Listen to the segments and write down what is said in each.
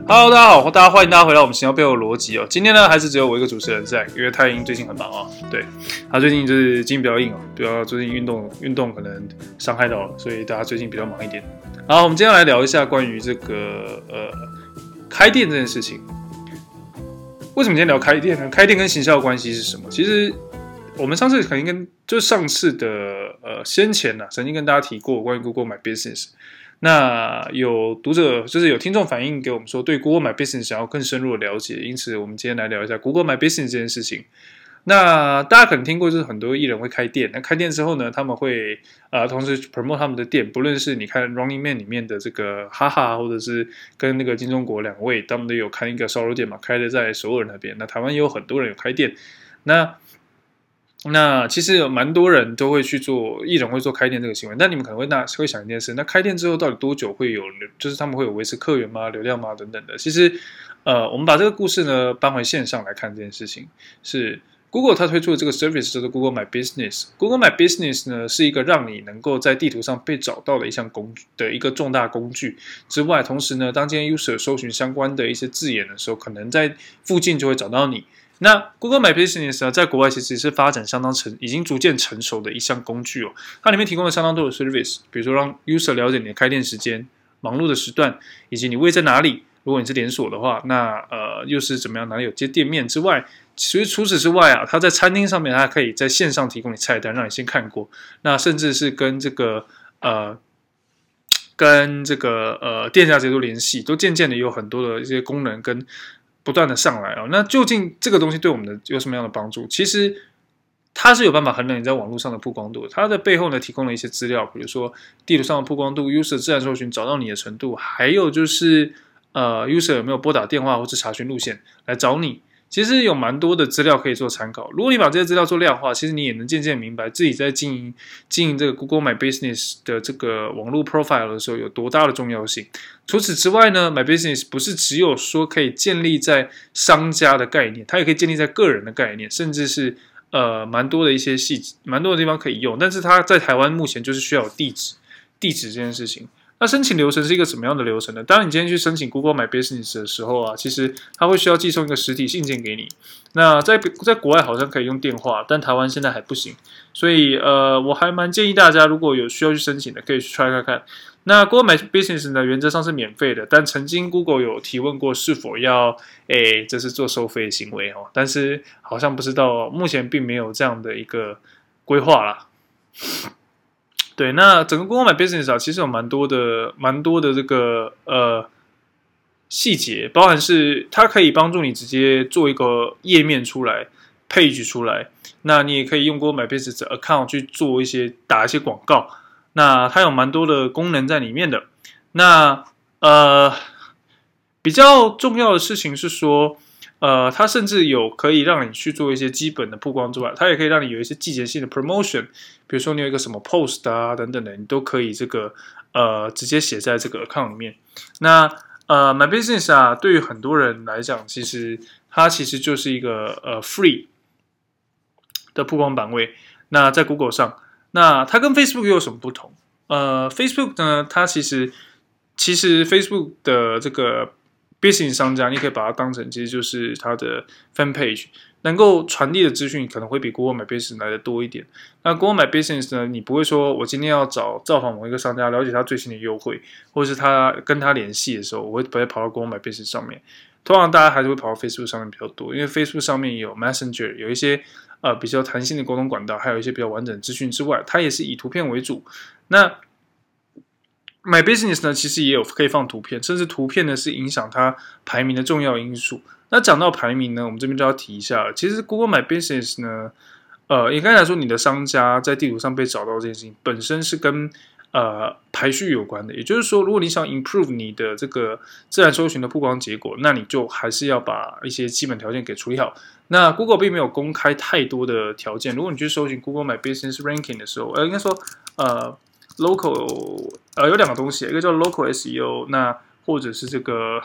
Hello， 大家好，歡迎大家回到我們行銷背後的邏輯哦。今天呢，還是只有我一個主持人在，因為太英最近很忙哦。對，他最近就是筋比較硬哦，最近運動可能傷害到了，所以大家最近比較忙一點。好，我們今天來聊一下關於這個開店這件事情。為什麼今天聊開店呢？開店跟行銷的關係是什麼？其實我們上次肯定上次的先前曾經跟大家提過關於 Google My Business。那有讀者就是有聽眾反映給我們說，對 Google My Business 想要更深入的了解，因此我們今天來聊一下 Google My Business 這件事情。那大家可能聽過，就是很多藝人會開店，那開店之後呢，他們會同時 promote 他們的店，不論是你看 Running Man 裡面的這個哈哈，或者是跟那個金鐘國兩位，他們都有開一個燒肉店嘛，開的在首爾那邊。那台灣也有很多人有開店，那其實有蠻多人都會去做，藝人會做開店這個行為。但你們可能會想一件事，那開店之後到底多久會有，就是他們會有維持客源嗎、流量嗎等等的？其實，我们把這個故事呢搬回線上來看這件事情，是 Google 它推出的這個 service 叫做 Google My Business。Google My Business 呢是一個讓你能夠在地圖上被找到的一個重大工具之外，同時呢，當今天 user 搜尋相關的一些字眼的時候，可能在附近就會找到你。那 Google My Business 呢，在國外其實是發展已經逐漸成熟的一項工具哦。它裡面提供了相當多的 service， 比如說讓 user 了解你的開店時間、忙碌的時段，以及你位在哪裡。如果你是連鎖的話，那又是怎麼樣？哪裡有接店面之外，其實除此之外它在餐廳上面，它可以在線上提供你菜單，讓你先看過。那甚至是跟這個店家直接做聯繫，都漸漸的有很多的一些功能跟不斷的上來哦，那究竟這個東西對我們有什麼樣的幫助？其實它是有辦法衡量你在網絡上的曝光度的。它的背後呢，提供了一些資料，比如說地圖上的曝光度、user 自然搜尋找到你的程度，還有就是user 有沒有撥打電話或者查詢路線來找你。其實有蠻多的資料可以做參考。如果你把這些資料做量化，其實你也能漸漸明白自己在經營這個 Google My Business 的這個網絡 profile 的時候有多大的重要性。除此之外呢， My Business 不是只有說可以建立在商家的概念，它也可以建立在個人的概念，甚至是蠻多的一些細節，蠻多的地方可以用。但是它在台灣目前就是需要有地址這件事情。那申請流程是一個什麼樣的流程呢？當你今天去申請 Google My Business 的時候其實它會需要寄送一個實體信件給你。那在國外好像可以用電話，但台灣現在還不行。所以我還蠻建議大家，如果有需要去申請的，可以去 try 看看。那 Google My Business 呢，原則上是免費的，但曾經 Google 有提問過是否要這是做收費的行為哦，但是好像不知道，目前並沒有這樣的一個規劃啦。對，那整個 Google My Business 其實有蠻多的這個細節，包含是它可以幫助你直接做一個頁面出來 ，page 出來。那你也可以用 Google My Business account 去做打一些廣告。那它有蠻多的功能在裡面的。那比較重要的事情是說，它甚至有可以讓你去做一些基本的曝光之外，它也可以讓你有一些季節性的 promotion， 比如說你有一個什麼 post 等等的，你都可以直接寫在這個 account 裡面。那My Business 對於很多人來講，它其實就是一個free 的曝光版位。那在 Google 上，那它跟 Facebook 又有什麼不同？Facebook 呢，它其實 Facebook 的這個Business 商家，你可以把它當成其實就是它的 fan page， 能夠傳遞的資訊可能會比 Google My Business 來的多一點。那 Google My Business 呢，你不會說我今天要造訪某一個商家，了解他最新的優惠，或者是跟他聯繫的時候，我會不會跑到 Google My Business 上面？通常大家還是會跑到 Facebook 上面比較多，因為 Facebook 上面有 Messenger， 有一些比較彈性的溝通管道，還有一些比較完整的資訊之外，它也是以圖片為主。那My Business 呢，其實也有可以放圖片，甚至圖片呢是影響它排名的重要因素。那講到排名呢，我們這邊就要提一下了。其實 Google My Business 呢，應該來說，你的商家在地圖上被找到這件事情，本身是跟排序有關的。也就是說，如果你想 improve 你的這個自然搜尋的曝光結果，那你就還是要把一些基本條件給處理好。那 Google 並沒有公開太多的條件。如果你去搜尋 Google My Business Ranking 的時候，應該說local 有兩個東西，一個叫 local SEO， 那或者是這個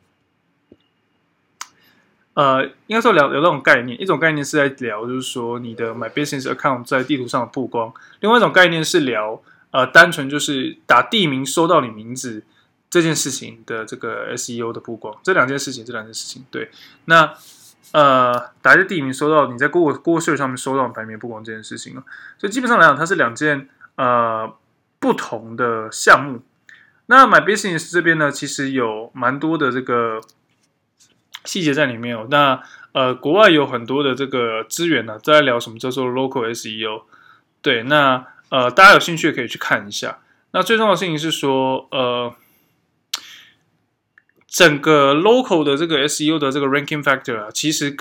應該說聊那種概念，一種概念是在聊就是說你的 My Business Account 在地圖上的曝光，另外一種概念是聊单純就是打地名搜到你名字這件事情的這個 SEO 的曝光，這兩件事情，對，那打一個地名收到你在 Google Search 上面收到排名曝光這件事情，所以基本上來講，它是兩件不同的項目。那 My Business 這邊呢，其實有蠻多的這個細節在裡面哦。那國外有很多的這個資源呢，在聊什麼叫做 Local SEO。對，那大家有興趣可以去看一下。那最重要的事情是說，整個 local 的這個 SEO 的這個 ranking factor 啊，其實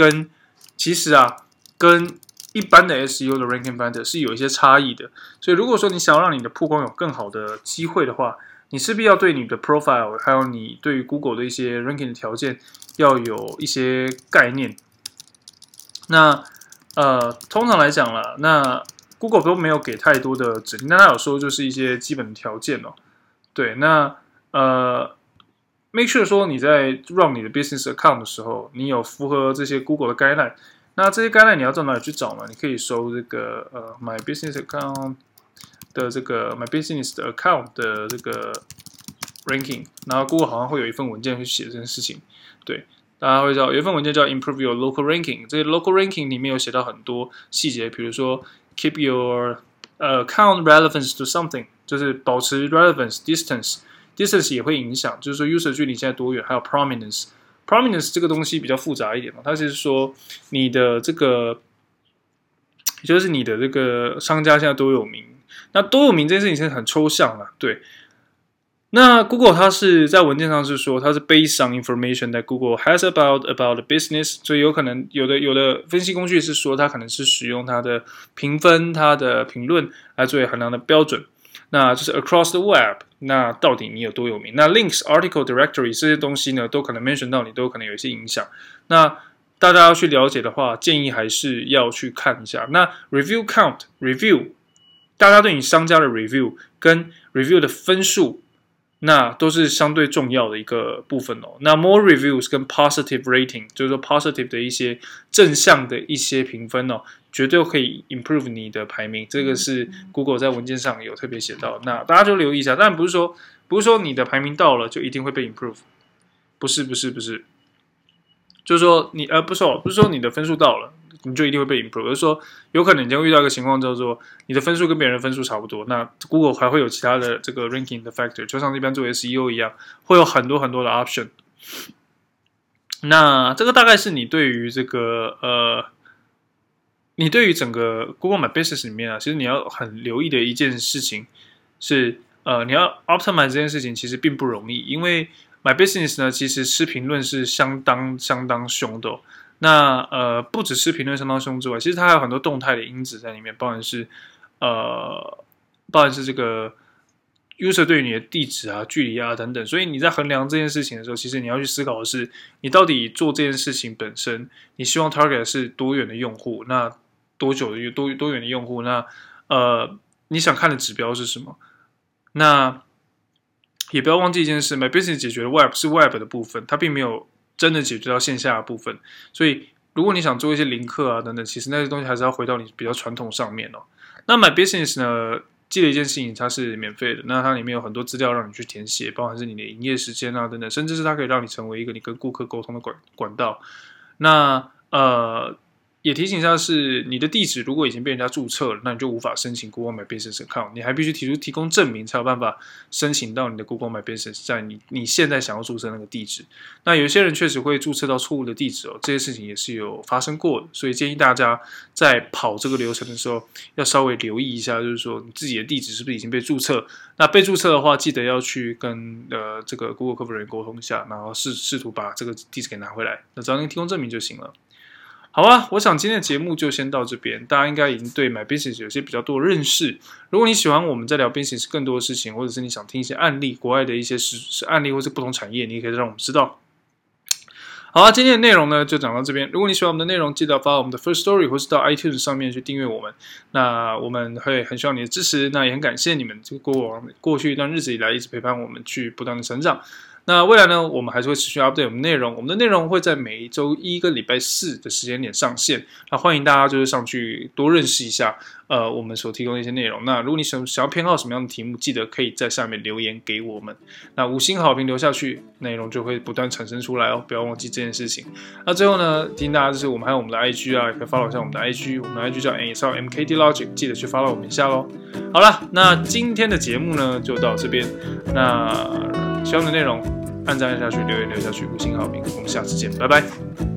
跟一般的 SEO 的 ranking factor 是有一些差異的。所以如果說你想要讓你的曝光有更好的機會的話，你勢必要對你的 profile 還有你對於 Google 的一些 ranking 的條件要有一些概念。那通常來講啦，那 Google 都沒有給太多的指令，但他有說就是一些基本的條件哦。對，那make sure 說你在 run 你的 business account 的時候，你有符合這些 Google 的 guideline。那這些 guideline 你要到哪裡去找呢？你可以搜這個My Business Account 的這個 My Business 的 account 的這個 ranking， 然後 Google 好像會有一份文件去寫這件事情。對，大家會知道有一份文件叫 Improve Your Local Ranking， 這些 local ranking 裡面有寫到很多細節，比如說 Keep your account relevance to something， 就是保持 relevance distance 也會影響，就是說 user 距離現在多遠，還有 prominence 這個東西比較複雜一點嘛，它就是說你的這個，也就是你的這個商家現在多有名，那多有名這件事情是很抽象了，對。那 Google 它是在文件上是說它是 based on information that Google has about the business， 所以有可能有的分析工具是說它可能是使用它的評分、它的評論來作為衡量的標準。那就是 across the web， 那到底你有多有名？那 links、article、directory 這些東西呢，都可能 mention 到你，都可能有一些影響。那大家要去了解的話，建議還是要去看一下。那 review count，review， 大家对你商家的 review 跟 review 的分數，那都是相對重要的一個部分哦。那 more reviews 跟 positive rating， 就是說 positive 的一些正向的一些評分哦，絕對可以 improve 你的排名。這個是 Google 在文件上有特別寫到，那大家就留意一下。當然不是說你的排名到了就一定會被 improve， 不是，就是說你不是說你的分數到了你就一定會被 improve， 而是說有可能你将會遇到一個情況叫做你的分數跟別人的分数差不多，那 Google 還會有其他的這個 ranking 的 factor， 就像一般做 SEO 一樣，會有很多的 option。那這個大概是你對於這個你對於整個 Google My Business 裡面啊，其實你要很留意的一件事情是你要 optimize 這件事情其實並不容易，因為 My Business 呢其實吃評論是相當兇的哦。那不只是評論相當兇之外，其實它還有很多動態的因子在裡面，包含是這個 user 對於你的地址啊、距離啊等等。所以你在衡量這件事情的時候，其實你要去思考的是，你到底做這件事情本身，你希望 target 是多遠的用戶？那多久的多遠的用戶？那你想看的指標是什麼？那也不要忘記一件事 ，My Business 解決的 Web 是 Web 的部分，它並沒有真的解決到線下的部分。所以如果你想做一些零課啊等等，其實那些東西還是要回到你比較傳統上面哦。那 My Business 呢，記得一件事情，它是免費的，那它裡面有很多資料讓你去填寫，包含是你的營業時間啊等等，甚至是它可以讓你成為一個你跟顧客溝通的管道。那也提醒一下是，你的地址如果已經被人家註冊了，那你就無法申請 Google My Business Account， 你還必須提供證明才有辦法申請到你的 Google My Business 在你現在想要註冊那個地址。那有些人確實會註冊到錯誤的地址哦，這些事情也是有發生過的，所以建議大家在跑這個流程的時候要稍微留意一下，就是說你自己的地址是不是已經被註冊。那被註冊的話，記得要去跟這個 Google 客服人員溝通一下，然後試圖把這個地址給拿回來。那只要您提供證明就行了。好啊，我想今天的節目就先到這邊，大家應該已經對 My Business 有些比較多的認識。如果你喜歡我們在聊 Business 更多的事情，或者是你想聽一些案例，國外的一些案例或是不同產業，你也可以讓我們知道。好啊，今天的內容呢就講到這邊。如果你喜歡我們的內容，記得發我們的 First Story 或是到 iTunes 上面去訂閱我們。那我們會很需要你的支持，那也很感謝你們這個過去一段日子以來一直陪伴我們去不斷的成長。 那未來呢，我們還是會持續 update 我們內容，我們的內容會在每一周一跟禮拜四的時間點上線。那歡迎大家就是上去多認識一下我們所提供的一些內容。那如果你想要偏好什麼樣的題目，記得可以在下面留言給我們。那5星好評留下去，內容就會不斷產生出來哦，不要忘記這件事情。那最後呢，提醒大家就是我們還有我們的 IG 啊，也可以 follow 一下我們的 IG， 我們的 IG 叫 MKD Logic， 記得去 follow 我們一下咯。好了，那今天的節目呢就到這邊。那喜歡的內容，按讚下去，留言留下去，5星好評，我們下次見，拜拜。